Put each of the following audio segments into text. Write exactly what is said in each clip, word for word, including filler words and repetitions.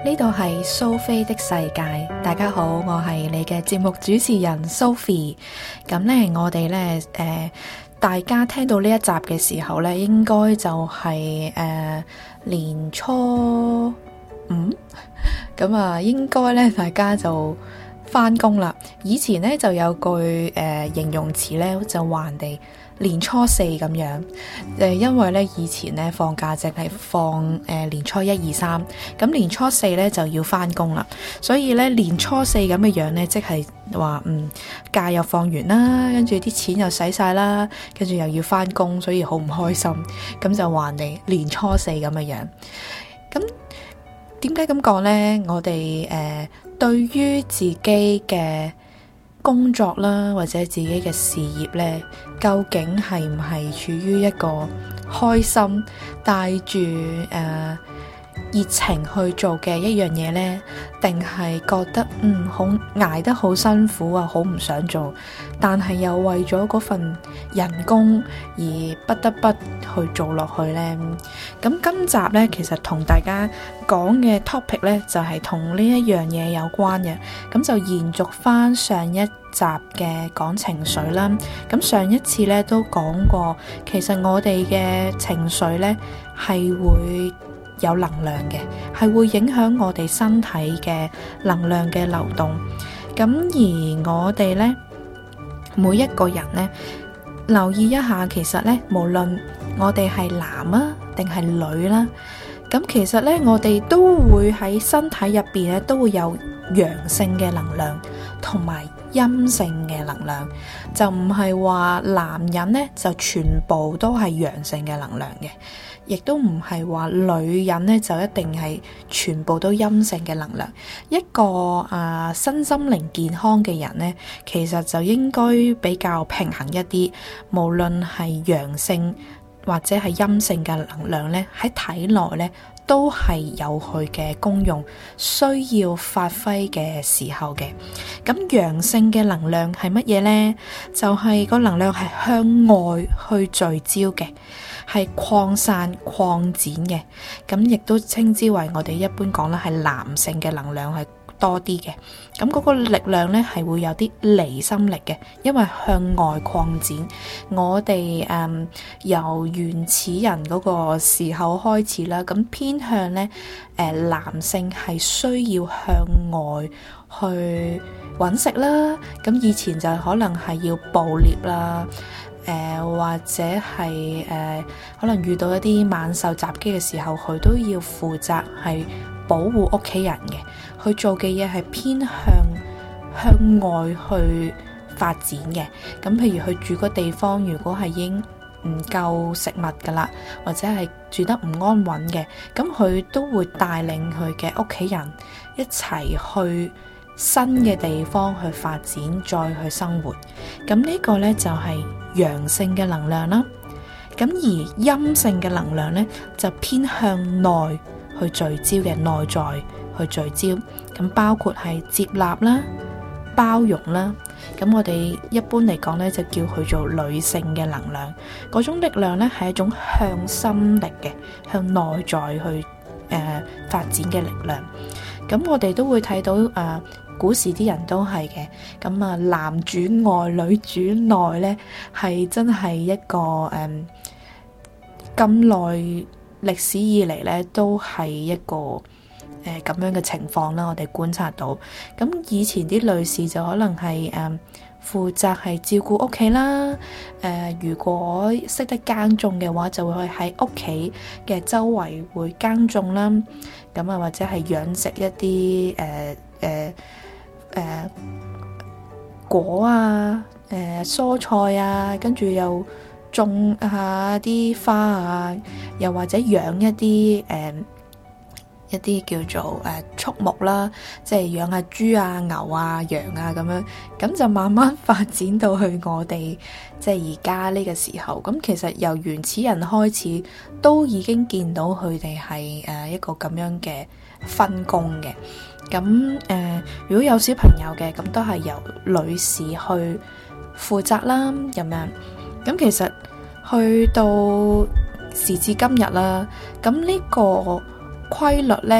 呢度係蘇菲的世界，大家好，我係你嘅節目主持人 Sophie。咁呢，我哋呢，誒、呃，大家聽到呢一集嘅時候呢，應該就係、是、誒、呃、年初五，咁啊，應該呢，大家就返工啦。以前呢，就有句誒、呃、形容詞呢，就話人哋年初四咁樣，誒，因為咧以前咧放假淨係放誒、呃、年初一二三，咁年初四咧就要翻工啦，所以咧年初四咁嘅樣咧，即係話嗯假又放完啦，跟住啲錢又使晒啦，跟住又要翻工，所以好唔開心，咁就話你年初四咁嘅樣。咁點解咁講呢？我哋誒、呃、對於自己嘅工作啦，或者自己嘅事業呢，究竟係唔係處於一個開心帶住誒熱情去做嘅一樣嘢呢？定係覺得嗯好捱得好辛苦啊，好唔想做，但係又為咗嗰份人工而不得不去做落去呢？咁今集呢，其實同大家講嘅 topic 呢，就係同呢一樣嘢有關嘅，咁就延續翻上一集嘅講情緒啦。咁上一次呢都講過，其實我哋嘅情緒呢係會有能量嘅，係會影響我哋身體嘅能量嘅流動。咁而我哋呢，每一個人呢，留意一下，其實呢，無論我哋係男啊定係女啦，咁其實呢，我哋都會喺身體入邊呢，都會有陽性嘅能量同埋陰性嘅能量，就唔係話男人呢就全部都係陽性嘅能量嘅，亦都唔係話女人呢就一定係全部都陰性嘅能量。一個啊、呃、身心靈健康嘅人呢，其實就應該比較平衡一啲，無論係陽性或者係陰性嘅能量呢，喺體內呢都係有佢嘅功用，需要發揮嘅時候嘅。咁陽性嘅能量係乜嘢呢？就係、是、個能量係向外去聚焦嘅，係擴散擴展嘅。咁亦都稱之為我哋一般講啦，係男性嘅能量係多啲嘅。咁嗰個力量呢係會有啲離心力嘅，因為向外擴展。我哋誒、嗯、由原始人嗰個時候開始啦，咁偏向呢，誒、呃、男性係需要向外去揾食啦。咁以前就可能係要捕獵啦，誒、呃、或者係誒、呃、可能遇到一啲猛獸襲擊嘅時候，佢都要負責係保護屋企人嘅。佢做嘅嘢係偏向向外去發展嘅。咁譬如佢住個地方，如果係已經唔夠食物噶啦，或者係住得唔安穩嘅，咁佢都會帶領佢嘅屋企人一齊去新嘅地方去發展，再去生活。咁呢個呢，就係陽性嘅能量啦。咁而陰性嘅能量呢，就偏向內去聚焦嘅，內在去聚焦，咁包括係接納啦、包容啦。咁我哋一般嚟講呢，就叫佢做女性嘅能量。嗰種力量呢，係一種向心力嘅，向內在去誒、呃、發展嘅力量。咁我哋都會睇到誒、呃，古時啲人都係嘅。咁啊，男主外女主內呢，係真係一個誒咁耐歷史以嚟呢，都係一個誒咁樣嘅情況啦。我哋觀察到，咁以前啲女士就可能係誒負責係照顧屋企啦。誒、呃，如果識得耕種嘅話，就會喺屋企嘅周圍會耕種啦。咁啊，或者係養殖一啲誒誒誒果啊、誒、呃、蔬菜啊，跟住又種下啲花啊，又或者養一啲誒、呃、一啲叫做誒、呃、畜牧啦，即係養下豬啊、牛啊、羊啊咁樣，咁就慢慢發展到去我哋即係而家呢個時候。咁其實由原始人開始都已經見到佢哋係誒一個咁樣嘅分工嘅。咁誒、呃，如果有小朋友嘅，咁都係由女士去負責啦，咁樣。咁其實去到時至今日啦，咁呢個規律呢，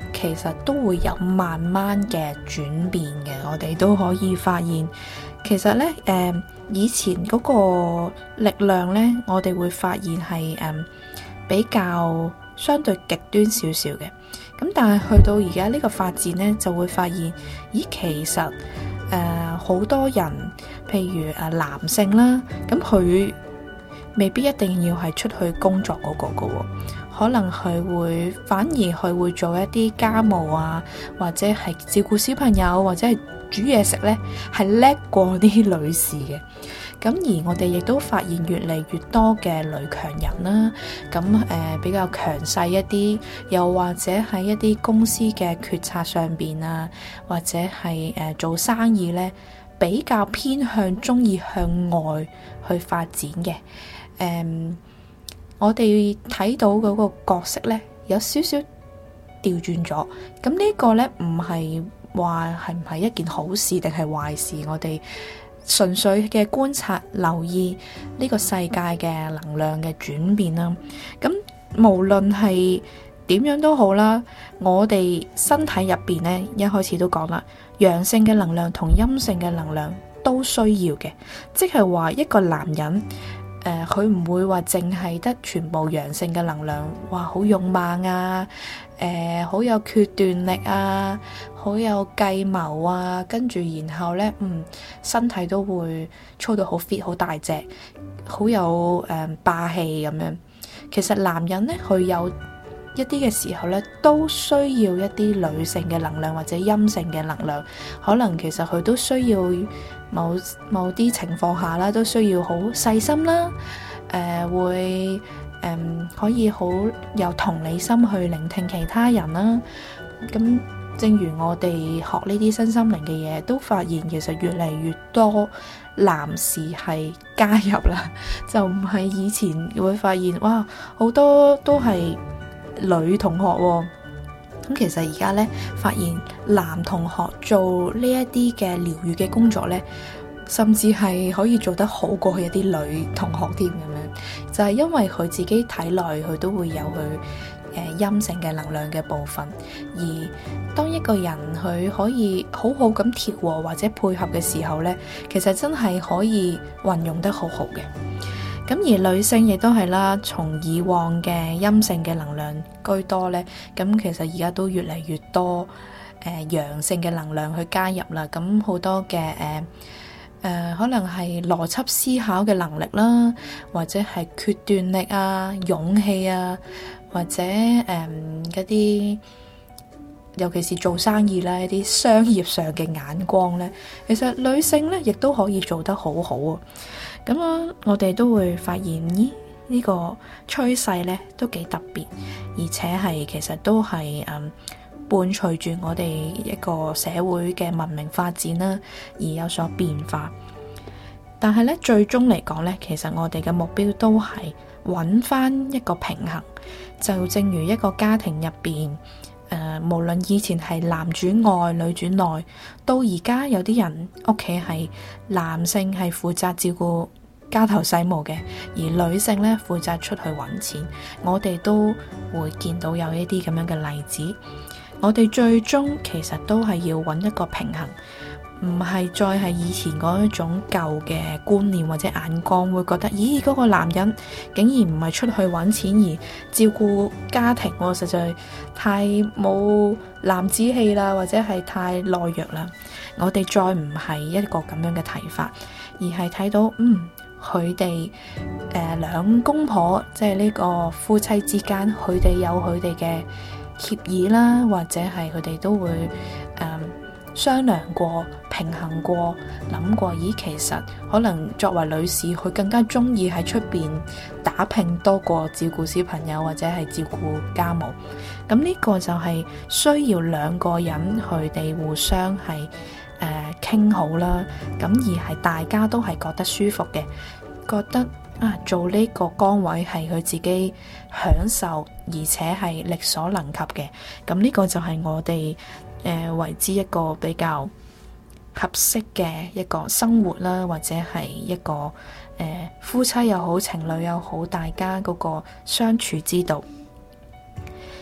其實都會有慢慢嘅轉變嘅。我哋都可以發現，其實呢，誒、呃、以前嗰個力量呢，我哋會發現係誒、呃、比較相對極端少少嘅。咁但係去到而家呢個發展呢，就會發現，咦，其實誒好、呃、多人，譬如誒男性啦，咁佢未必一定要係出去工作嗰個㗎喎，可能佢會反而佢會做一啲家務啊，或者係照顧小朋友，或者係煮嘢食呢，係叻過啲女士嘅。咁而我哋亦都發現越嚟越多嘅女強人啦，咁誒、呃、比較強勢一啲，又或者喺一啲公司嘅決策上邊啊，或者係誒、呃、做生意呢，比較偏向中意向外去發展嘅。誒、呃，我哋睇到嗰個角色呢，有少少調轉咗。咁呢個呢，唔係話係唔係一件好事定係壞事，我哋純粹嘅觀察留意呢個世界嘅能量嘅轉變啦。咁無論係點樣都好啦，我哋身體入邊呢，一開始都講啦，陽性嘅能量同陰性嘅能量都需要嘅，即係話一個男人誒，佢、呃、唔會話淨係得全部陽性嘅能量，哇，好勇猛啊，誒、呃，好有決斷力啊，好有計謀啊，跟住然後呢，嗯，身體都會操到好 fit，好大隻，好有誒、呃、霸氣咁樣。其實男人呢，佢有一啲嘅時候呢，都需要一啲女性嘅能量或者陰性嘅能量，可能其實佢都需要某某啲情況下啦，都需要好細心啦，誒、呃、會誒、呃、可以好有同理心去聆聽其他人啦。咁正如我哋學呢啲身心靈嘅嘢，都發現其實越嚟越多男士係加入啦，就唔係以前會發現哇好多都係女同學喎。咁其實而家咧，發現男同學做呢一啲嘅療癒嘅工作咧，甚至係可以做得好過一啲女同學添咁樣，就係因為佢自己體內佢都會有佢誒陰性嘅能量嘅部分，而當一個人佢可以好好咁調和或者配合嘅時候咧，其實真係可以運用得好好嘅。咁而女性亦都係啦，從以往嘅陰性嘅能量居多呢，咁其實而家都越嚟越多誒、呃、陽性嘅能量去加入啦。咁好多嘅誒誒，可能係邏輯思考嘅能力啦，或者係決斷力啊、勇氣啊，或者誒嗰啲，尤其是做生意啦，一啲商業上嘅眼光呢，其實女性呢亦都可以做得好好啊。咁啊，我哋都會發現，咦，呢個趨勢呢都幾特別，而且係其實都係誒、嗯、伴隨住我哋一個社會嘅文明發展啦，而有所變化。但係呢，最終嚟講呢，其實我哋嘅目標都係揾翻一個平衡。就正如一個家庭入邊，誒、呃，無論以前係男主外女主內，到而家有啲人屋企係男性係負責照顧家頭細務嘅，而女性咧負責出去揾錢。我哋都會見到有一啲咁樣嘅例子。我哋最終其實都係要揾一個平衡，唔係再係以前嗰一種舊嘅觀念或者眼光，會覺得咦，嗰個男人竟然唔係出去揾錢而照顧家庭，我實在太冇男子氣啦，或者係太懦弱啦。我哋再唔係一個咁樣嘅睇法，而係睇到嗯。佢哋誒兩公婆，即係呢個夫妻之間，佢哋有佢哋嘅協議啦，或者係佢哋都會誒、呃、商量過、平衡過、諗過。咦，其實可能作為女士，佢更加中意喺出邊打拼多過照顧小朋友或者係照顧家務。咁呢個就係需要兩個人佢哋互相係誒傾好啦，咁而係大家都係覺得舒服嘅，覺得啊做呢個崗位係佢自己享受，而且係力所能及嘅。咁呢個就係我哋誒、呃、為之一個比較合適嘅一個生活啦，或者係一個誒、呃、夫妻又好，情侶又好，大家嗰個相處之道。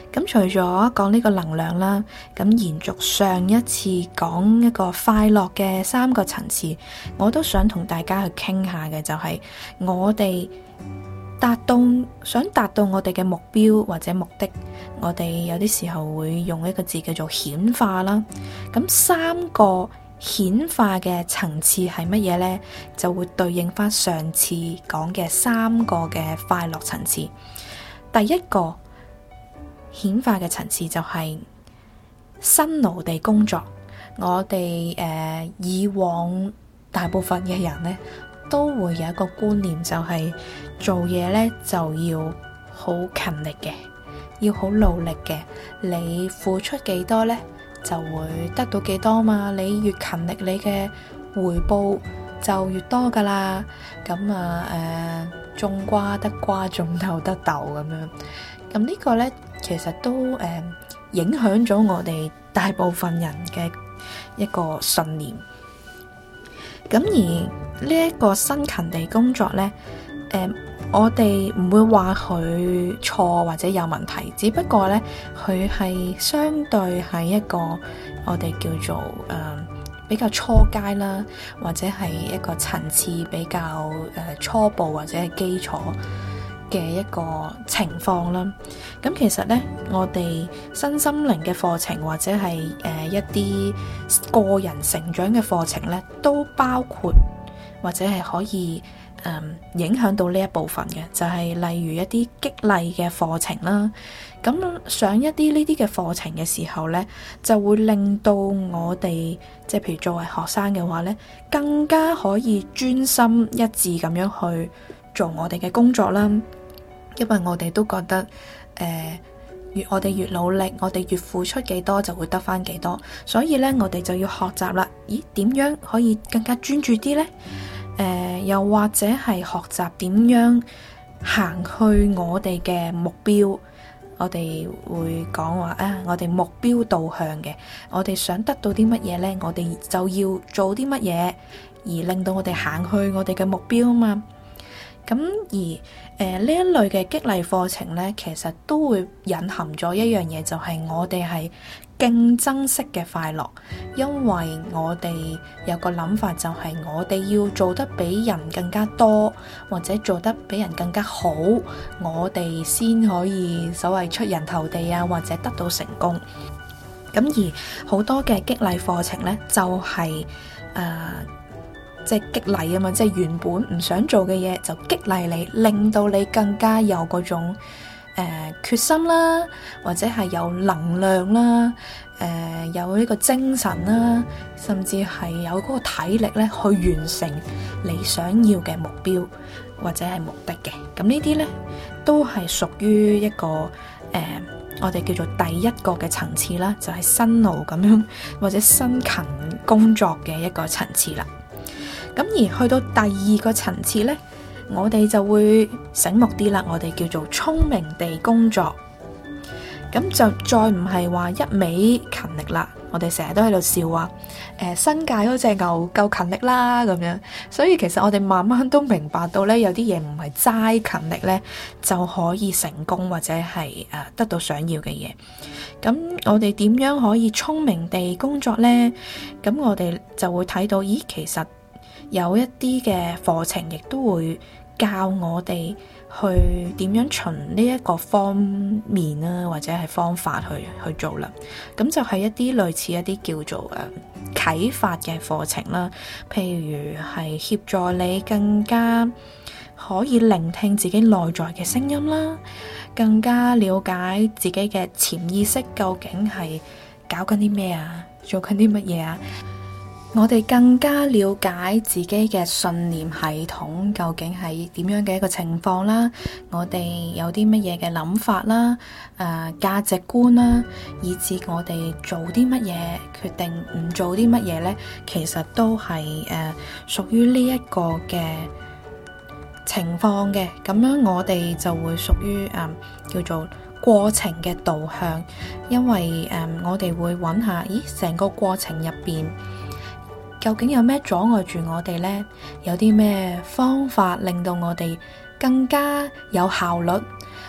咁除咗講呢個能量啦，咁延續上一次講一個快樂嘅三個層次，我都想同大家去傾下嘅就係我哋達到想達到我哋嘅目標或者目的，我哋有啲時候會用一個字叫做顯化啦。咁三個顯化嘅層次係乜嘢呢？就會對應翻上次講嘅三個嘅快樂層次。第一個顯化嘅層次就係辛勞地工作。我哋誒、呃、以往大部分嘅人呢，都會有一個觀念，就係做嘢呢就要好勤力嘅，要好努力嘅。你付出幾多呢，就會得到幾多嘛。你越勤力，你嘅回報就越多噶啦。咁啊誒，種瓜得瓜，種豆得豆咁樣。咁呢個呢，其實都誒、呃、影響咗我哋大部分人嘅一個信念。咁而呢一個辛勤地工作呢，誒、呃，我哋唔會話佢錯或者有問題，只不過呢，佢係相對係一個我哋叫做誒、呃、比較初階啦，或者係一個層次比較誒、呃、初步或者係基礎嘅一個情況啦。咁其實呢，我哋身心靈嘅課程或者係誒、呃、一啲個人成長嘅課程呢，都包括或者係可以誒、呃、影響到呢一部分嘅，就係、是、例如一啲激勵嘅課程啦。咁上一啲呢啲嘅課程嘅時候呢，就會令到我哋即係譬如作為學生嘅話呢，更加可以專心一致咁樣去做我哋嘅工作啦。因為我哋都覺得，誒、呃，越我哋越努力，我哋越付出幾多就會得返幾多，所以呢，我哋就要學習啦。咦，點樣可以更加專注啲呢？誒、呃，又或者係學習點樣行去我哋嘅目標？我哋會講話啊，我哋目標導向嘅，我哋想得到啲乜嘢呢？我哋就要做啲乜嘢，而令到我哋行去我哋嘅目標啊嘛。咁而誒呢、呃、一類嘅激勵課程呢，其實都會隱含咗一樣嘢，就係、是、我哋係競爭式嘅快樂，因為我哋有個諗法，就係我哋要做得比人更加多，或者做得比人更加好，我哋先可以所謂出人頭地啊，或者得到成功。咁而好多嘅激勵課程呢，就係、是、誒。呃即係激勵啊嘛，即係原本唔想做嘅嘢就激勵你，令到你更加有嗰種誒、呃、決心啦，或者係有能量啦，誒、呃、有呢個精神啦，甚至係有嗰個體力咧去完成你想要嘅目標或者係目的嘅。咁呢啲咧都係屬於一個誒、呃、我哋叫做第一個嘅層次啦，就係、是、辛勞咁樣或者辛勤工作嘅一個層次啦。咁而去到第二個層次呢，我哋就會醒目啲啦。我哋叫做聰明地工作，咁就再唔係話一味勤力啦。我哋成日都喺度笑話，誒、呃，新界嗰隻牛夠勤力啦咁樣。所以其實我哋慢慢都明白到呢，有啲嘢唔係齋勤力呢就可以成功或者係誒、呃、得到想要嘅嘢。咁我哋點樣可以聰明地工作呢？咁我哋就會睇到，咦，其實有一啲嘅課程亦都會教我哋去點樣循呢一個方面啦，或者係方法去去做啦。咁就係一啲類似一啲叫做誒啟發嘅課程啦，譬如係協助你更加可以聆聽自己內在嘅聲音啦，更加了解自己嘅潛意識究竟係搞緊啲咩啊，做緊啲乜嘢啊。我哋更加了解自己嘅信念系統究竟係點樣嘅一個情況啦，我哋有啲乜嘢嘅諗法啦，誒、呃、價值觀啦，以至我哋做啲乜嘢決定唔做啲乜嘢呢，其實都係誒屬於呢一個嘅情況嘅。咁樣我哋就會屬於誒、呃、叫做過程嘅導向，因為誒、呃、我哋會揾下，咦，成個過程入邊究竟有咩阻礙住我哋呢？有啲咩方法令到我哋更加有效率，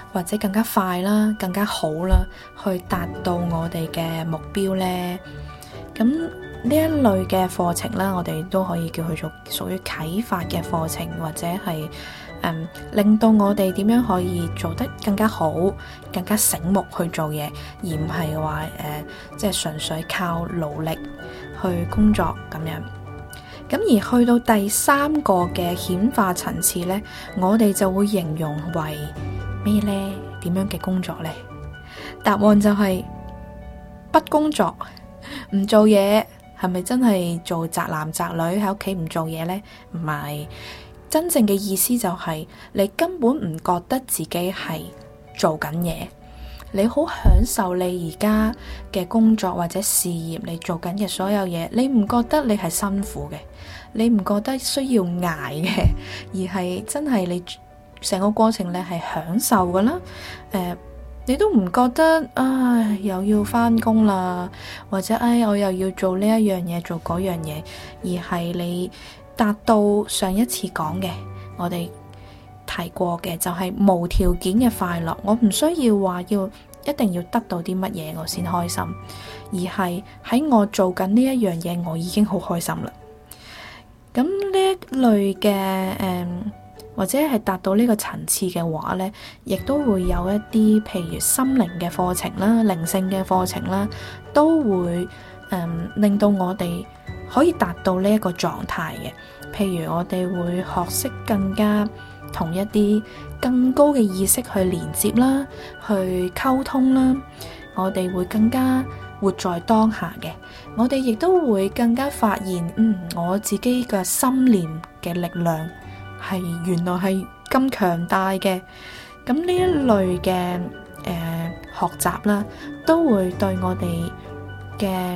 或者更加快啦，更加好啦，去達到我哋嘅目標呢？咁呢一類嘅課程啦，我哋都可以叫佢做屬於啟發嘅課程，或者係嗯令到我哋點樣可以做得更加好，更加醒目去做嘢，而唔係話誒即係純粹靠努力去工作咁樣。咁而去到第三個嘅顯化層次呢，我哋就會形容為咩呢？點樣嘅工作呢？答案就係不工作，唔做嘢。係咪真係做宅男宅女喺屋企唔做嘢呢？唔係，真正嘅意思就係你根本唔覺得自己係做緊嘢，你好享受你而家嘅工作或者事業，你做緊嘅所有嘢，你唔覺得你係辛苦嘅，你唔覺得需要捱嘅，而係真係你成個過程你係享受噶啦，誒、呃。你都唔覺得啊，又要返工啦，或者唉，我又要做呢一樣嘢，做嗰樣嘢，而係你達到上一次講嘅，我哋提過嘅，就係無條件嘅快樂。我唔需要話要一定要得到啲乜嘢我先開心，而係喺我做緊呢一樣嘢，我已經好開心啦。咁呢一類嘅誒。嗯或者係達到呢個層次嘅話呢，亦都會有一啲譬如心靈嘅課程啦、靈性嘅課程啦，都會、嗯、令到我哋可以達到呢一個狀態嘅。譬如我哋會學識更加同一啲更高嘅意識去連接啦、去溝通啦，我哋會更加活在當下嘅。我哋亦都會更加發現，嗯，我自己嘅心念嘅力量係原來係咁強大嘅。咁呢一類嘅誒、呃、學習啦，都會對我哋嘅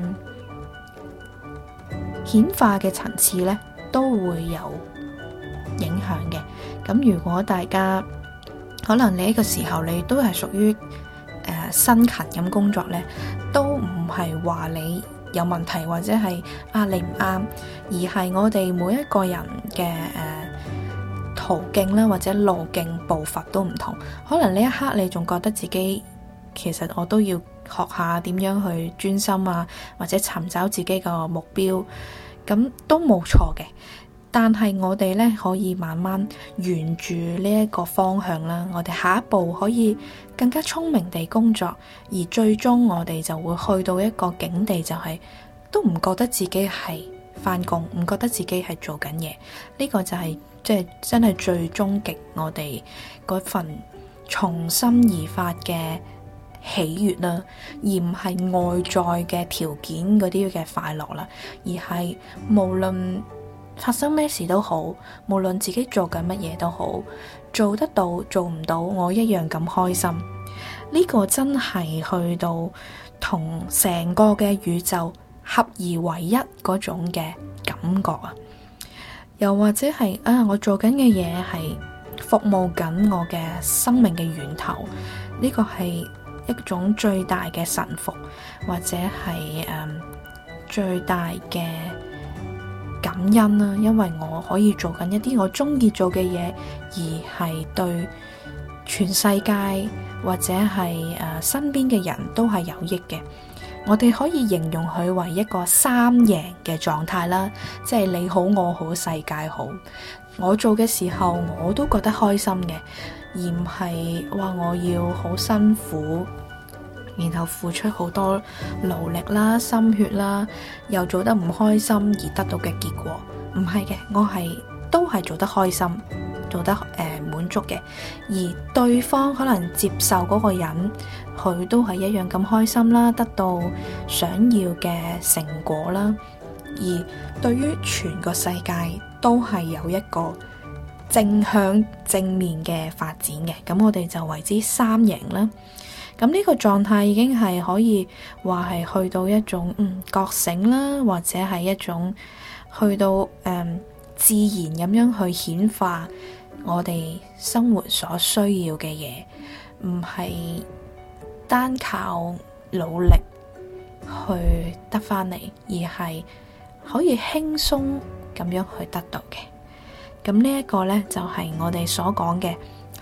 顯化嘅層次咧，都會有影響嘅。咁如果大家可能你呢個時候你都係屬於誒辛勤咁工作咧，都唔係話你有問題或者係啊你唔啱，而係我哋每一個人嘅誒、呃途徑啦，或者路徑步伐都唔同，可能呢一刻你仲覺得自己其實我都要學下點樣去專心啊，或者尋找自己個目標，咁都冇錯嘅。但係我哋呢，可以慢慢沿住呢一個方向啦，我哋下一步可以更加聰明地工作，而最終我哋就會去到一個境地，就係都唔覺得自己係返工，唔覺得自己係做緊嘢。呢個就係即係真係最終極，我哋嗰份從心而發嘅喜悅啦，而唔係外在嘅條件嗰啲嘅快樂啦，而係無論發生咩事都好，無論自己做緊乜嘢都好，做得到做唔到，我一樣咁開心。呢個真係去到同成個嘅宇宙合而為一嗰種嘅感覺啊！又或者係啊，我做緊嘅嘢係服務緊我嘅生命嘅源頭，呢個係一種最大嘅臣服，或者係誒、嗯、最大嘅感恩啦。因為我可以做緊一啲我中意做嘅嘢，而係對全世界或者係誒、呃、身邊嘅人都係有益嘅。我哋可以形容佢為一個三贏嘅狀態啦，即係你好我好世界好。我做嘅時候我都覺得開心嘅，而唔係話我要好辛苦，然後付出好多勞力啦、心血啦，又做得唔開心而得到嘅結果。唔係嘅，我係都係做得開心，做得誒、呃、滿足嘅，而對方可能接受嗰個人，佢都係一樣咁開心啦，得到想要嘅成果啦。而對於全個世界都係有一個正向正面嘅發展嘅，咁我哋就為之三贏啦。咁呢個狀態已經係可以話係去到一種嗯覺醒啦，或者係一種去到誒、嗯、自然咁樣去顯化我哋生活所需要嘅嘢，唔係單靠努力去得返嚟，而係可以輕鬆咁樣去得到嘅。咁呢一個呢，就係我哋所講嘅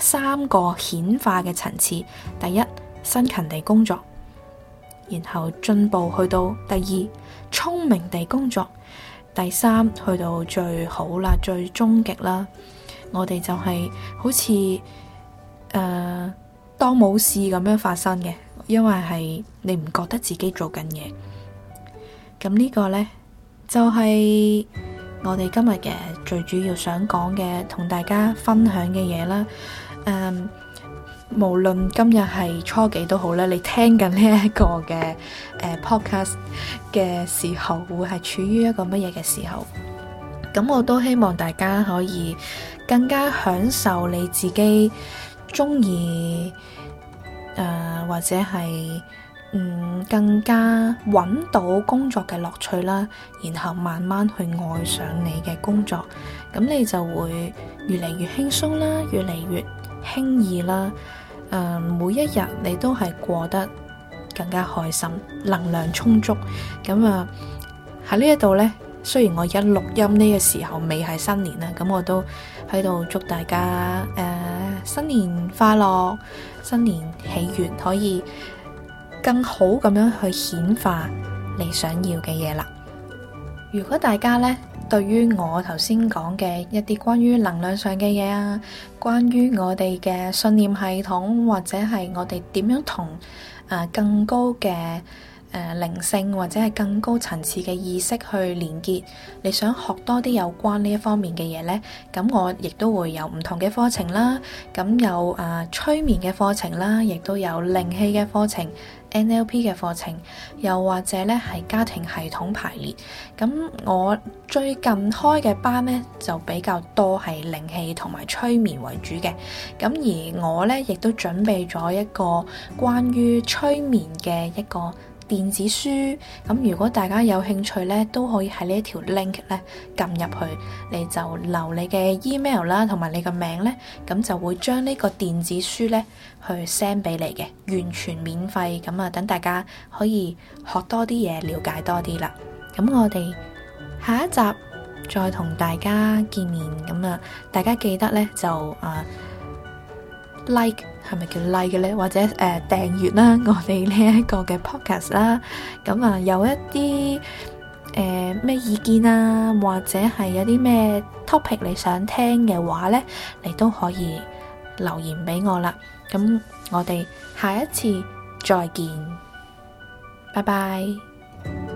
三個顯化嘅層次。第一，辛勤地工作，然後進步去到第二，聰明地工作，第三，去到最好啦，最終極啦，我哋就係好似誒、呃、當冇事咁樣發生嘅，因為係你唔覺得自己做緊嘢。咁呢個呢，就係、是、我哋今日嘅最主要想講嘅，同大家分享嘅嘢啦。誒、嗯，無論今日係初幾都好啦，你聽緊呢一個嘅誒、呃、podcast 嘅時候，會係處於一個乜嘢嘅時候？咁我都希望大家可以更加享受你自己中意誒，或者係嗯更加揾到工作嘅樂趣啦，然後慢慢去愛上你嘅工作，咁你就會越嚟越輕鬆啦，越嚟越輕易啦。誒、呃，每一日你都係過得更加開心，能量充足。咁啊喺呢一度呢，雖然我而家錄音呢個時候未係新年啦，咁我都喺度祝大家誒、呃、新年快樂，新年喜悅，可以更好咁樣去顯化你想要嘅嘢啦。如果大家呢，對於我頭先講嘅一啲關於能量上嘅嘢啊，關於我哋嘅信念系統，或者係我哋點樣同誒更高嘅誒靈性或者係更高層次嘅意識去連結，你想學多啲有關呢一方面嘅嘢呢，咁我亦都會有唔同嘅課程啦，咁有誒、呃、催眠嘅課程啦，亦都有靈氣嘅課程、N L P 嘅課程，又或者咧係家庭系統排列。咁我最近開嘅班呢，就比較多係靈氣同埋催眠為主嘅。咁而我呢，亦都準備咗一個關於催眠嘅一個電子書。咁如果大家有興趣呢，都可以喺呢一條 link 咧撳入去，你就留你嘅 email 啦，同埋你個名呢，咁就會將呢個電子書呢去 send 俾你嘅，完全免費。咁啊，等大家可以學多啲嘢，了解多啲啦。咁我哋下一集再同大家見面。咁啊，大家記得呢，就啊 like 係咪叫 like 嘅呢？或者誒、呃、訂閱啦，我哋呢一個嘅 podcast 啦。咁啊，有一啲誒咩意見啊，或者係有啲咩 topic 你想聽嘅話呢，你都可以留言俾我啦。咁我哋下一次再見，拜拜。